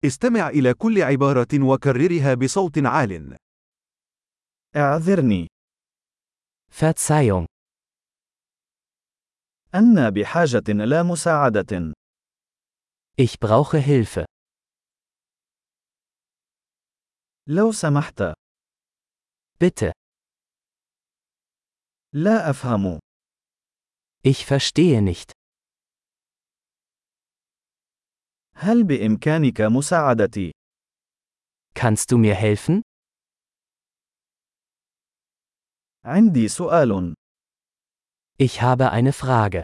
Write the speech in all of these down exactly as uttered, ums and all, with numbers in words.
استمع إلى كل عبارة وكررها بصوت عال. اعذرني. Verzeihung. أنا بحاجة إلى مساعدة. Ich brauche Hilfe. لو سمحت. Bitte. لا أفهم. Ich verstehe nicht. هل بإمكانك مساعدتي؟ Kannst du mir helfen? عندي سؤال. Ich habe eine Frage.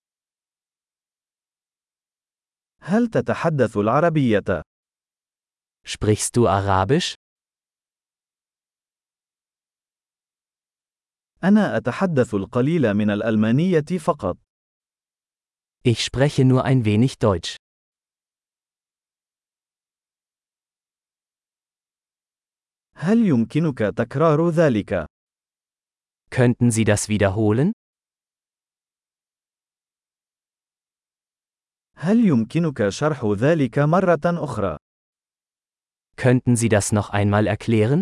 هل تتحدث العربية؟ Sprichst du Arabisch? أنا أتحدث القليل من الألمانية فقط. Ich spreche nur ein wenig Deutsch. هل يمكنك تكرار ذلك؟ Könnten Sie das wiederholen? هل يمكنك شرح ذلك مرة أخرى؟ Könnten Sie das noch einmal erklären?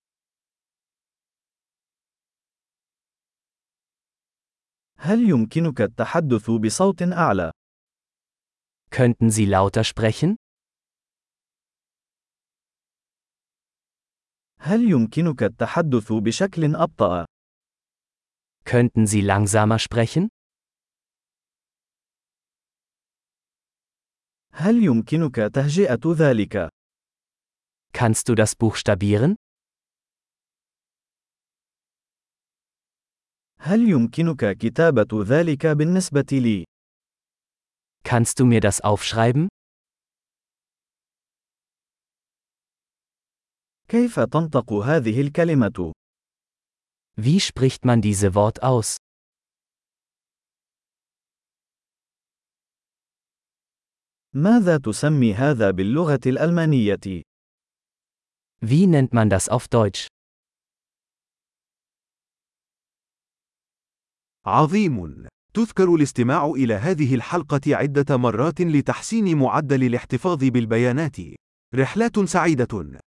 هل يمكنك التحدث بصوت أعلى؟ Könnten Sie lauter sprechen? هل يمكنك التحدث بشكل أبطأ؟ Könnten Sie langsamer sprechen? هل يمكنك تهجئة ذلك؟ Kannst du das buchstabieren? هل يمكنك كتابة ذلك بالنسبة لي؟ Kannst du mir das aufschreiben? كيف تنطق هذه الكلمة؟ Wie spricht man diese Wort aus? ماذا تسمي هذا باللغة الألمانية؟ Wie nennt man das auf Deutsch? عظيم. تذكر الاستماع إلى هذه الحلقة عدة مرات لتحسين معدل الاحتفاظ بالبيانات. رحلات سعيدة.